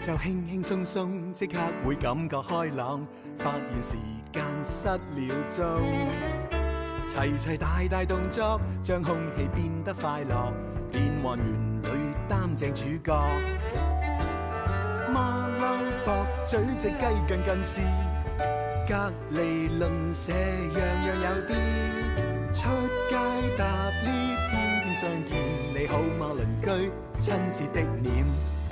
就輕輕鬆鬆，即刻會感覺開朗，發現時間失了蹤。齊齊大大動作，將空氣變得快樂，變幻園裏擔正主角。馬騮駁嘴隻雞近近視，隔離鄰舍樣樣有啲。出街搭 lift，天天相見，你好嗎鄰居？親切的臉，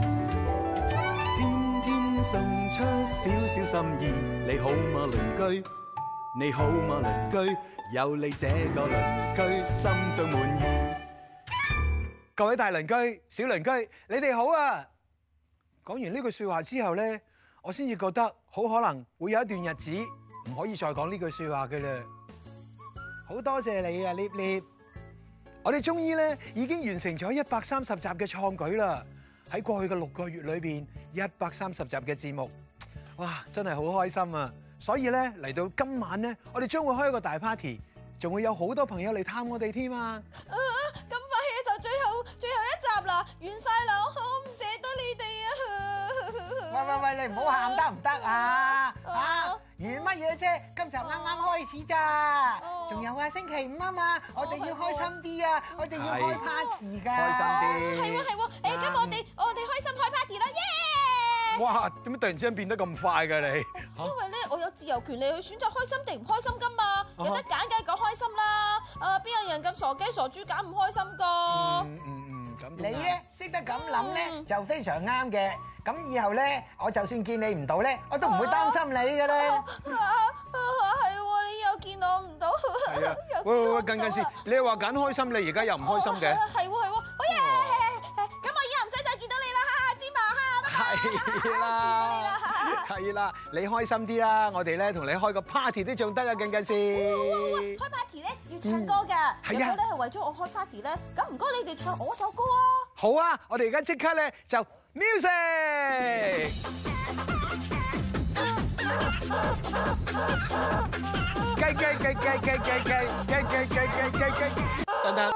天天送出少少心意，你好嗎鄰居？你好嗎鄰居？有你這個鄰居，心中滿意。各位大鄰居、小鄰居，你哋好啊！講完呢句説話之後咧，我先至覺得好可能會有一段日子唔可以再講呢句説話嘅啦。好多謝你啊，Lip Lip！我哋終於咧已經完成咗130集嘅創舉啦！喺過去嘅6個月裏邊，130集嘅節目，哇，真係好開心啊！所以咧嚟到今晚咧，我哋將會開一個大 party， 仲會有好多朋友嚟探我哋添啊！ 咁快嘅就最後一集啦，完晒啦，我好唔捨得你哋啊！ 喂，你唔好喊得唔得啊？完乜嘢啫？今集啱啱開始咋，仲有啊，星期5啊嘛，我哋要開心啲啊，我哋要開 party 㗎。 開心啲。 係喎，咁我哋開心開 party 啦，耶！ 哇！點解突然之間變得咁快㗎你？ 因為咧，我有自由權利去選擇開心定唔開心㗎嘛，有得揀梗係講開心啦。邊有人咁傻雞傻豬揀唔開心㗎？ 咁你咧識得咁諗咧，就非常啱嘅。咁以後咧，我就算見你唔到咧，我都唔會擔心你㗎啦。 係喎，你又見我唔到。 係啊！喂，近時你又話揀開心，你而家又唔開心嘅？ 係喎，好嘢！咁我以後唔使再見到你啦，芝麻哈， 係啦，你開心啲啦，我哋咧同你開個 party 都仲得啊，近時。 開 party 咧要唱歌㗎，如果咧係為咗我開 party 咧，咁唔該你哋唱我首歌啊！ 好啊，我哋而家即刻咧就 music。雞，等等，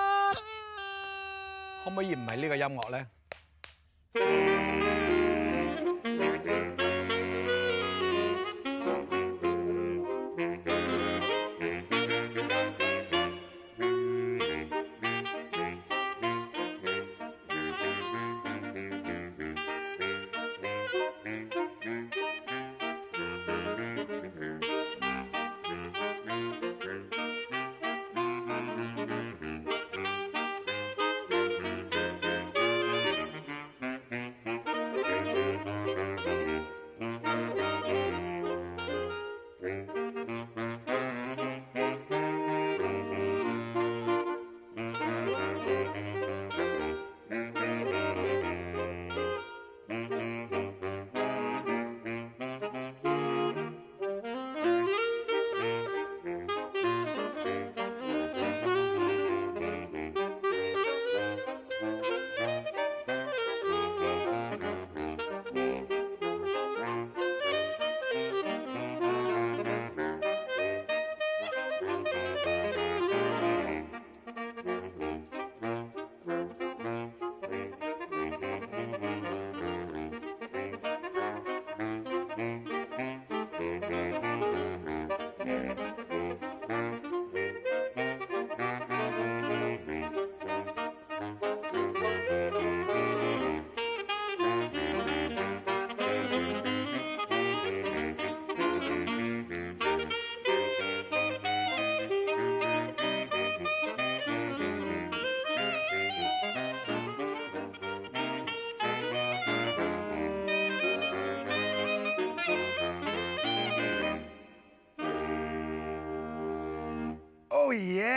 可唔可以唔係呢個音樂咧？Oh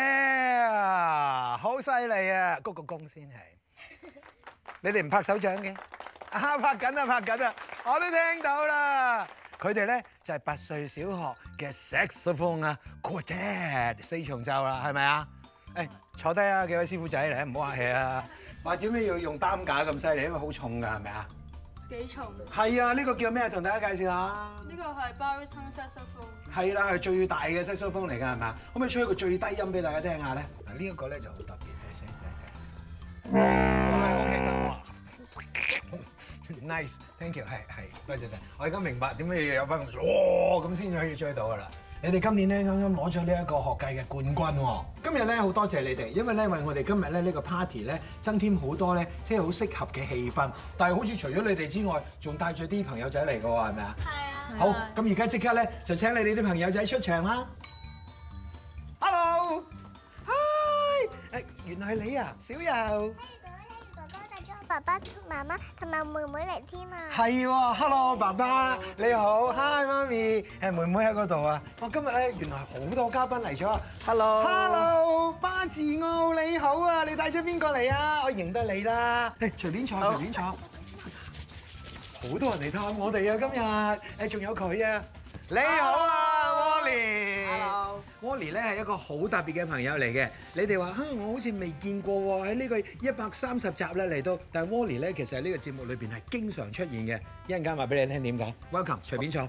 yeah！好犀利啊！鞠個躬先係。你哋唔拍手掌嘅？啊，拍緊啊！我都聽到啦。佢哋咧就係8歲小學嘅 saxophone 啊 quartet 4重奏啦，係咪啊？誒，坐低啊，幾位師傅仔嚟，唔好客氣啊。話做咩要用擔架咁犀利？因為好重㗎，係咪啊？ 幾重？ 係啊，呢個叫咩？同大家介紹下。 呢個係 baritone saxophone。係啦，係最大嘅 saxophone嚟㗎，係咪啊？可唔可以吹一個最低音俾大家聽下咧？嗱，呢一個咧就好特別嘅聲，OK 啦，哇！ ，nice，thank you， 係，多謝晒。我而家明白點解要有翻哇咁先可以追到㗎啦。你哋今年咧啱啱攞咗呢一個學界嘅冠軍喎。今日咧好多謝你哋，因為咧為我哋今日咧呢個 party 咧增添好多咧即係好適合嘅氣氛。但係好似除咗你哋之外，仲帶咗啲朋友仔嚟㗎喎，係咪啊？係啊。好，咁而家即刻咧就請你哋啲朋友仔出場啦。Hello， hi， 原來係你啊，小柔。 爸爸、媽媽同埋妹妹嚟添啊！ 係喎 ，Hello 爸爸，你好 ，Hi 媽咪，妹妹喺嗰度啊！我今日咧原來好多嘉賓嚟咗 ，Hello， 巴治奧你好啊！你帶咗邊個嚟啊？我認得你啦，隨便坐，隨便坐。好多人嚟探我哋啊！今日仲有佢啊！你好啊 ，Wally。Wally 咧係一個好特別嘅朋友嚟嘅。你哋話我好似未見過喎，喺呢個130集咧嚟到，但係 Wally 咧其實喺呢個節目裏邊係經常出現嘅。一陣間話俾你聽點解。Welcome， 隨便坐。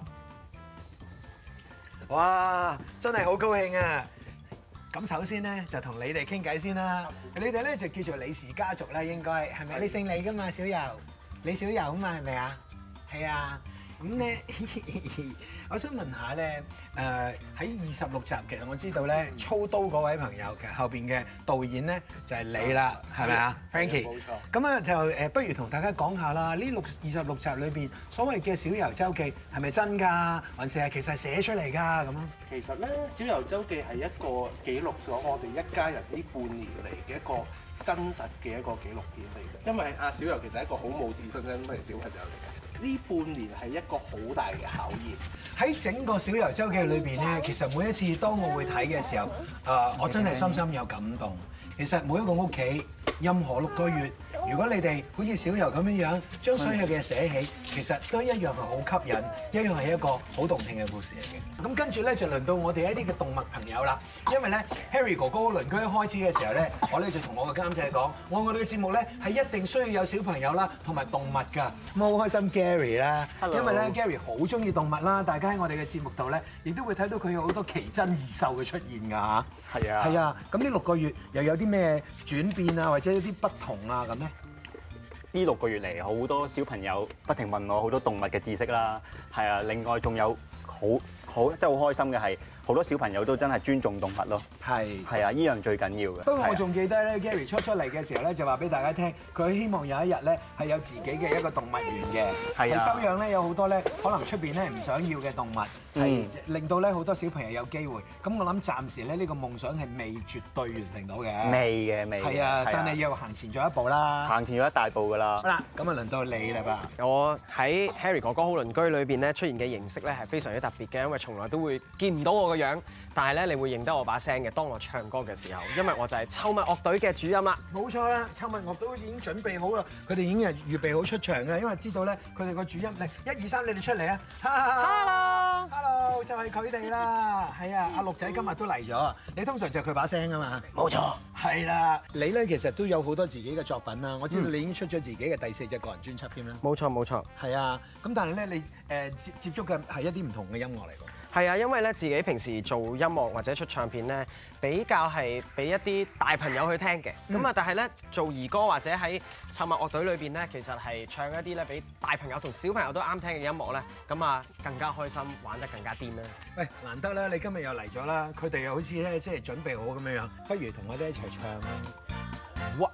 哇，真係好高興啊！咁首先咧就同你哋傾偈先啦。你哋咧就叫做李氏家族啦，應該係咪？你姓李㗎嘛，小柔，李小柔啊嘛，係咪啊？係啊。咁咧，我想問下咧，喺26集，其實我知道咧，操刀嗰位朋友，其實後邊嘅導演咧就係你啦，係咪啊 ，Frankie？冇錯。咁啊就不如同大家講下啦，呢26集裏邊所謂嘅小柔周記係咪真㗎，還是係其實寫出嚟㗎咁啊？ 其實咧，小柔周記係一個記錄咗我哋一家人呢半年嚟嘅一個真實嘅一個紀錄片嚟嘅。因為阿小柔其實係一個好冇自信嘅小朋友嚟嘅。呢半年係一個好大嘅考驗。 喺整個小柔周記裏邊咧，其實每一次當我會睇嘅時候，我真係深深有感動。其實每一個屋企，任何6個月，如果你哋好似小柔咁樣樣，將所有嘅嘢寫起，其實都一樣係好吸引，一樣係一個好動聽嘅故事嚟嘅。咁跟住咧就輪到我哋一啲嘅動物朋友啦。因為咧 Harry 哥哥鄰居一開始嘅時候咧，我咧就同我嘅監製講，我哋嘅節目咧係一定需要有小朋友啦，同埋動物㗎。咁好開心 Gary 啦，因為咧 Gary 好中意動物啦，大家喺我哋嘅節目度咧，亦都會睇到佢有好多奇珍異獸嘅出現㗎嚇。係啊，係啊。咁呢6個月又有啲咩轉變啊，或者有啲不同啊咁咧？ 呢6個月嚟，好多小朋友不停問我好多動物嘅知識啦，係啊，另外仲有好即係好開心嘅係，好多小朋友都真係尊重動物咯。係啊，依樣最緊要嘅。不過我仲記得咧 ，Gary 出嚟嘅時候咧，就話俾大家聽，佢希望有一日咧係有自己嘅一個動物園嘅，係收養咧有好多咧可能出邊咧唔想要嘅動物，係令到咧好多小朋友有機會。咁我諗暫時咧呢個夢想係未絕對完成到嘅。 未嘅。 係啊，但係要行前咗一步啦。 行前咗一大步㗎啦。 好啦，咁啊輪到你啦噃。 我喺 Harry 哥哥好鄰居裏邊咧出現嘅形式咧係非常之特別嘅，因為從來都會見唔到我個樣，但係咧你會認得我把聲嘅。當我唱歌嘅時候，因為我就係臭襪樂隊嘅主音啦。冇錯啦，臭襪樂隊已經準備好啦，佢哋已經係預備好出場㗎，因為知道咧佢哋個主音嚟，1、2、3，你哋出嚟啊 ！Hello， 就係佢哋啦。係啊，阿陸仔今日都嚟咗。你通常就佢把聲啊嘛。冇錯。係啦，你咧其實都有好多自己嘅作品啦。我知道你已經出咗自己嘅第4隻個人專輯添啦。冇錯冇錯。係啊，咁但係咧你接觸嘅係一啲唔同嘅音樂嚟㗎。係啊，因為咧自己平時做音樂或者出唱片咧，比較係俾一啲大朋友去聽嘅。咁啊，但係咧做兒歌或者喺臭襪樂隊裏邊咧，其實係唱一啲咧俾大朋友同小朋友都啱聽嘅音樂咧，咁啊更加開心，玩得更加癲啦。喂，難得啦，你今日又嚟咗啦，佢哋又好似咧即係準備好咁樣樣，不如同我哋一齊唱啦。哇！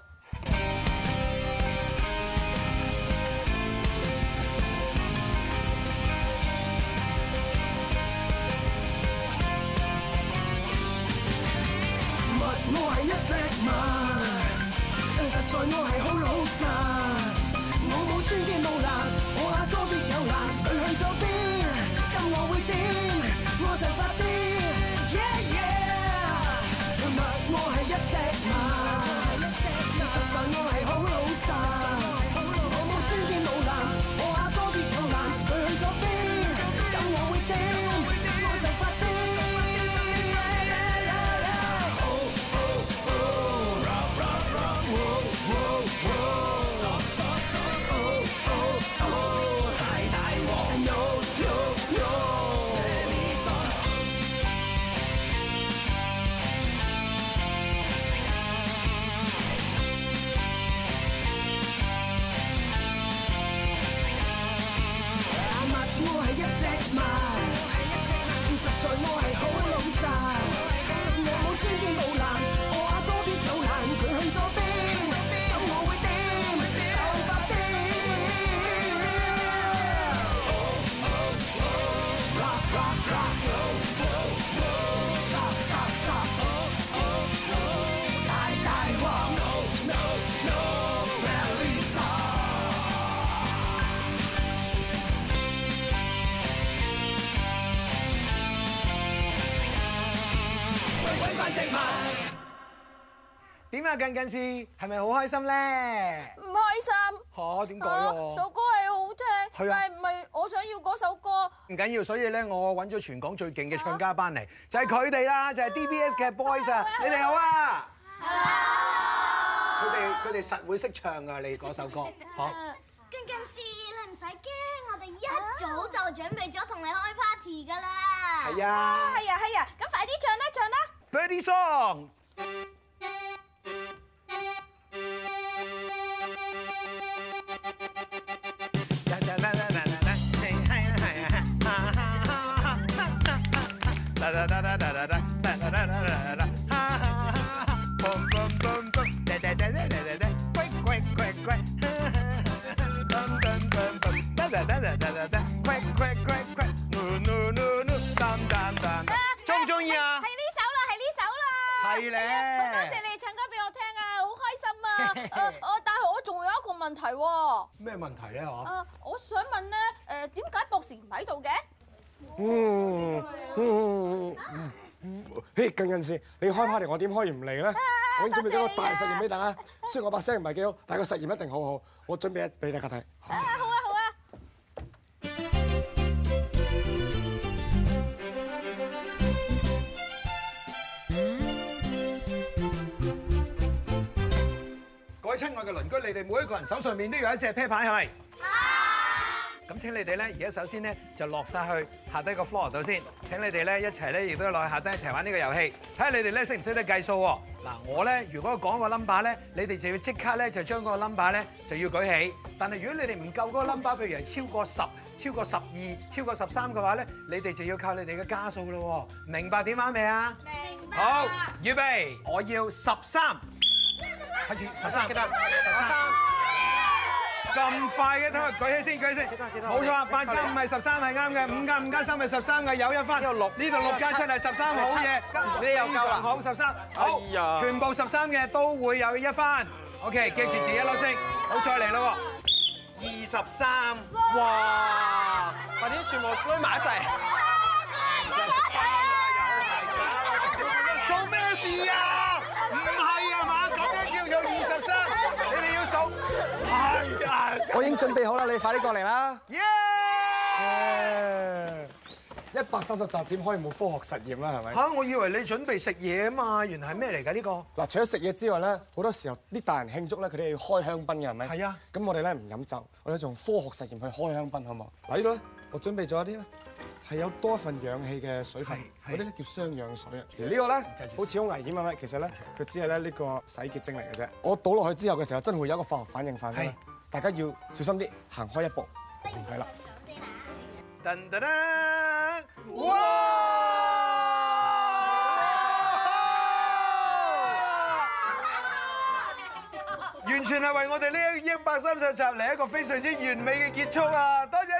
我係一隻馬，實在我係好老實，我冇穿肩冇爛，我阿哥必有難，佢去咗邊，咁我會點，我就發癲 ，yeah yeah，我係一隻馬，實在我係好老實，我冇穿肩冇爛，我阿哥必有難，佢去咗邊，咁我會點，我就發癲。大植物。點啊，近近視係咪好開心咧？ 唔開心。 嚇，點解啊？ 首歌係好聽，但係唔係我想要嗰首歌。 唔緊要，所以咧我揾咗全港最勁嘅唱家班嚟，就係佢哋啦，就係 DBS 嘅 Boys 啊！你哋好啊！佢哋實會識唱㗎，你嗰首歌。好。 近近視，你唔使驚，我哋一早就準備咗同你開 party 㗎啦。 係啊。 係啊，咁快啲唱啦 Birdy Song。中唔中意啊？ 係呢首啦。 係咧。 好多謝你哋唱歌俾我聽啊，好開心啊！但係我仲有一個問題喎。 咩問題咧？ 我想問咧，點解博士唔喺度嘅？ 嘿，近視，你開 party 我點可以唔嚟咧？我已經準備咗個大實驗俾大家，雖然我把聲唔係幾好，但係個實驗一定好好。我準備一俾大家睇。 好啊。 各位親愛嘅鄰居，你哋每一個人手上面都有一隻啤牌，係咪？係。咁請你哋咧，而家首先咧就落晒去下低個 floor 度先。請你哋咧一齊咧，亦都落去下低一齊玩呢個遊戲。睇下你哋咧識唔識得計數喎？嗱，我咧如果講個 number 咧，你哋就要即刻咧就將嗰個 number 咧就要舉起。但係如果你哋唔夠嗰個 number，譬如係超過10、超過12、超過13嘅話咧，你哋就要靠你哋嘅加數咯喎。明白點玩未啊？明白。好，預備，我要13。開始13，記得13。咁快嘅，等我舉起先，冇錯，8加5係13係啱嘅，5加5加3係13嘅，有一分。呢度6加7係13，好嘢，你又夠啦，好13，好，全部13嘅都會有1分。OK， 記住自己一粒星，好再嚟咯喎，23，哇，快啲全部堆埋一齊。做咩事啊？唔係啊嘛，咁樣叫做23，你哋要數。係啊， 我已經準備好啦，你快啲過嚟啦。 耶 ！130集點可以冇科學實驗啦？係咪？ 嚇！我以為你準備食嘢啊嘛，原來係咩嚟㗎呢個？ 嗱，除咗食嘢之外咧，好多時候啲大人慶祝咧，佢哋要開香檳嘅係咪？ 係啊。咁我哋咧唔飲酒，我哋用科學實驗去開香檳，好唔好？嗱，呢度咧，我準備咗一啲咧係有多一份氧氣嘅水分，嗰啲咧叫雙氧水啊。而呢個咧好似好危險啊！其實咧佢只係咧呢個洗潔精嚟嘅啫。我倒落去之後嘅時候，真係會有一個化學反應發生。大家要小心啲，行開一步。係啦。噔噔噔！哇！完全係為我哋呢130集嚟一個非常之完美嘅結束啊！多謝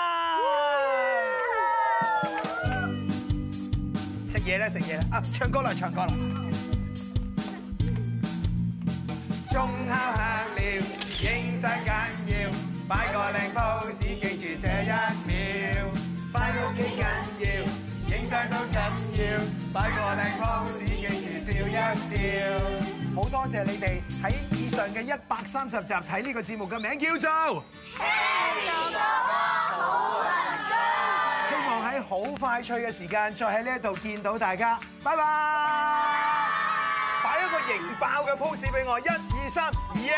晒！食嘢啦，食嘢啦！啊，唱歌啦，唱歌啦！鐘敲響了，影相緊要，擺個靚 pose，記住這1秒。返屋企緊要，影相都緊要，擺個靚 pose，記住笑一笑。好多謝你哋喺以上嘅130集睇呢個節目嘅名叫做《聽到好鄰居》，希望喺好快脆嘅時間再喺呢一度見到大家，拜拜！擺一個型爆嘅 pose 俾我，1、2、3，型！